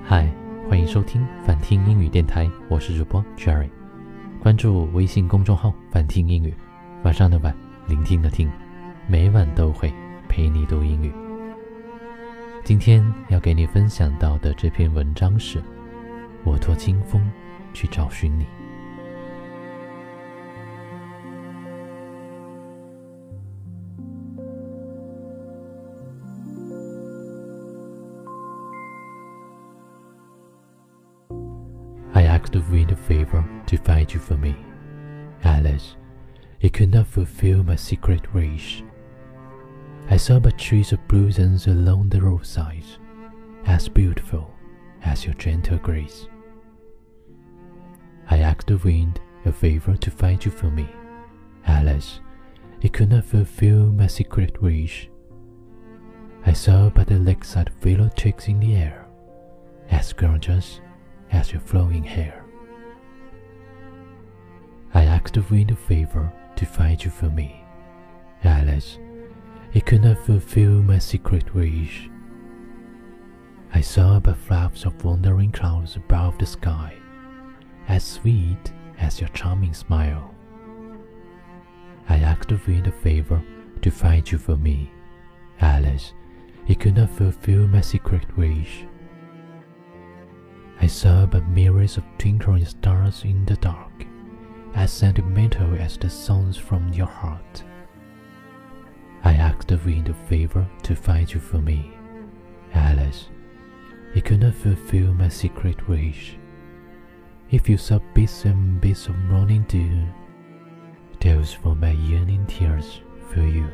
嗨，欢迎收听反听英语电台，我是主播 Jerry。关注微信公众号反听英语，晚上的晚，聆听的听，每晚都会陪你读英语。今天要给你分享到的这篇文章是我托清风去找寻你。I asked the wind a favor to find you for me. Alas, it could not fulfill my secret wish. I saw but trees of blossoms along the roadside, as beautiful as your gentle grace. I asked the wind a favor to find you for me. Alas, it could not fulfill my secret wish. I saw but the lakeside willow twigs in the air, as gorgeous as your flowing hair. I asked the wind a favor to find you for me. Alas, it could not fulfill my secret wish. I saw but flowers of wandering clouds above the sky, as sweet as your charming smile. I asked the wind a favor to find you for me. Alas, it could not fulfill my secret wish. I saw but myriads of twinkling stars in the dark, as sentimental as the songs from your heart. I asked the wind a favor to find you for me. Alas, it could not fulfill my secret wish. If you saw bits and bits of morning dew, those were my yearning tears for you.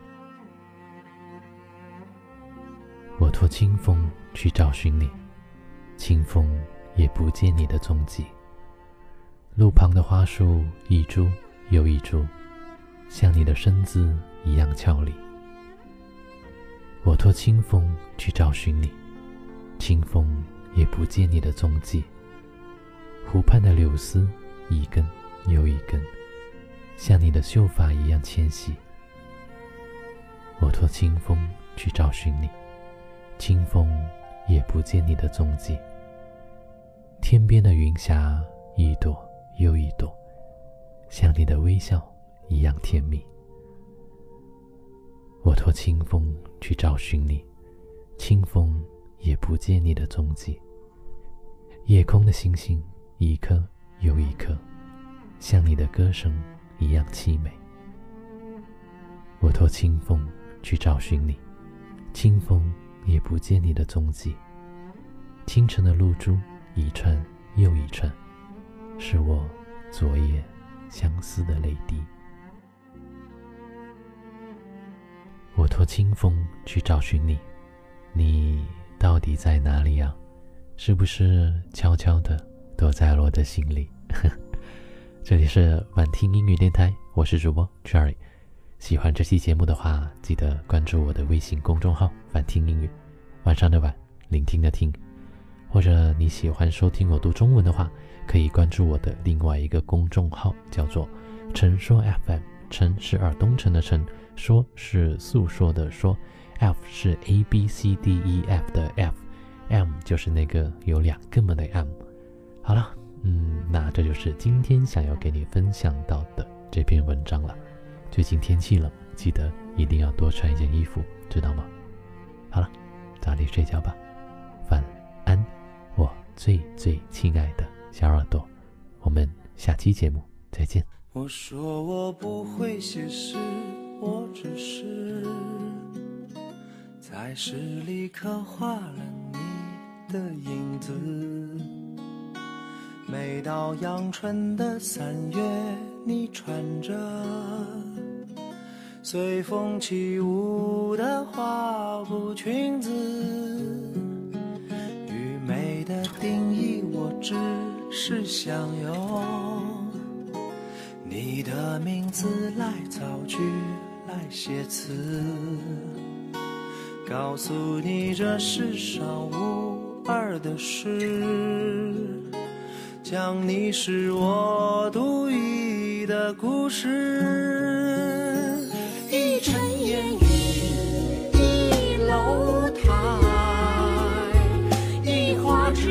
我托清风去找寻你，清风也不见你的踪迹。路旁的花树一株又一株，像你的身姿一样俏丽。我托清风去找寻你，清风也不见你的踪迹。湖畔的柳丝一根又一根，像你的秀发一样纤细。我托清风去找寻你，清风也不见你的踪迹。天边的云霞一朵又一朵，像你的微笑一样甜蜜。我托清风去找寻你，清风也不见你的踪迹。夜空的星星一颗又一颗，像你的歌声一样凄美。我托清风去找寻你，清风也不见你的踪迹。清晨的露珠一串又一串，是我昨夜相思的泪滴。我托清风去找寻你，你到底在哪里啊？是不是悄悄地躲在了我的心里？这里是晚听英语电台，我是主播 Jerry。 喜欢这期节目的话，记得关注我的微信公众号晚听英语，晚上的晚，聆听的听。或者你喜欢收听我读中文的话，可以关注我的另外一个公众号，叫做陈说 FM。 陈是耳东陈的陈，说是诉说的说， F 是 ABCDEF 的 F， M 就是那个有两个门的 M。 好了，那这就是今天想要给你分享到的这篇文章了。最近天气冷，记得一定要多穿一件衣服，知道吗？好了，早点睡觉吧，晚安，我最最亲爱的小耳朵，我们下期节目再见。 我说我不会写诗，我只是在诗里刻画了你的影子。每到阳春的3月，你穿着随风起舞的花布裙子。愚昧的定义，我只是想用你的名字来造句，来写词，告诉你这世上无二的事，讲你是我独一的故事。一尘烟雨，一楼台，一花枝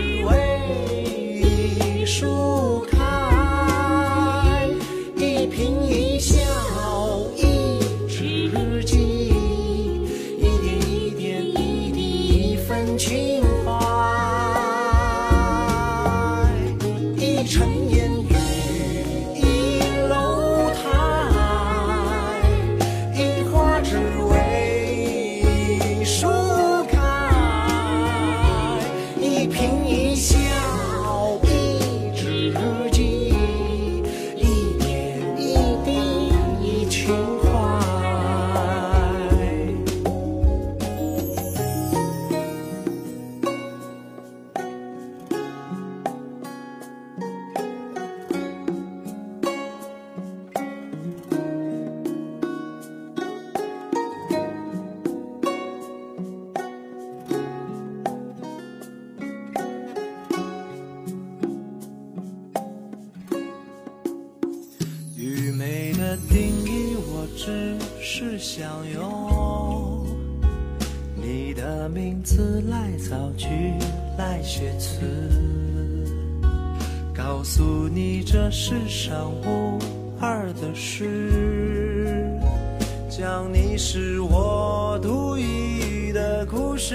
世事相拥，你的名字来造句，来写词，告诉你这世上无二的事，讲你是我独一的故事。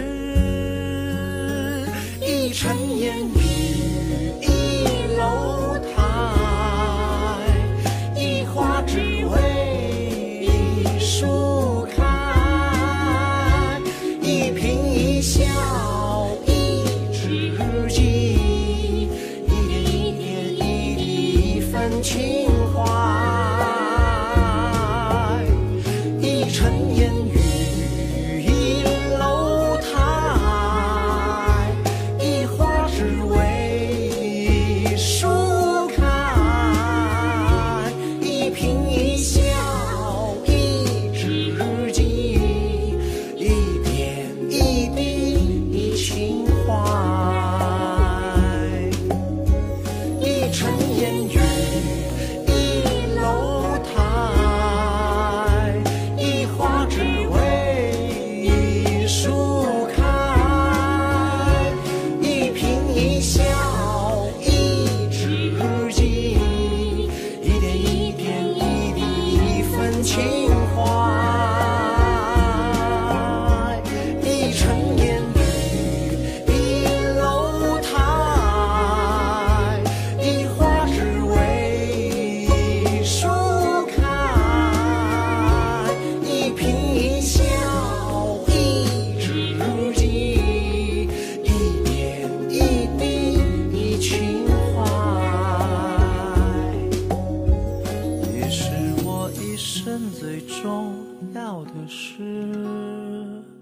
一尘烟雨，一楼台，一花只为一树开，一颦一笑一知己，一点一点一滴一分情怀。一尘烟雨，一楼台，一花只为树开，一颦一笑一知己，一点一滴一情怀。一尘烟雨，一楼台，一花只为一树开，一颦一笑一知己，一点一点一滴一分情怀。一尘烟雨，一楼台，一花只为一树开，一颦一笑一知己，一点一滴一情怀。也是我一生最重要的事。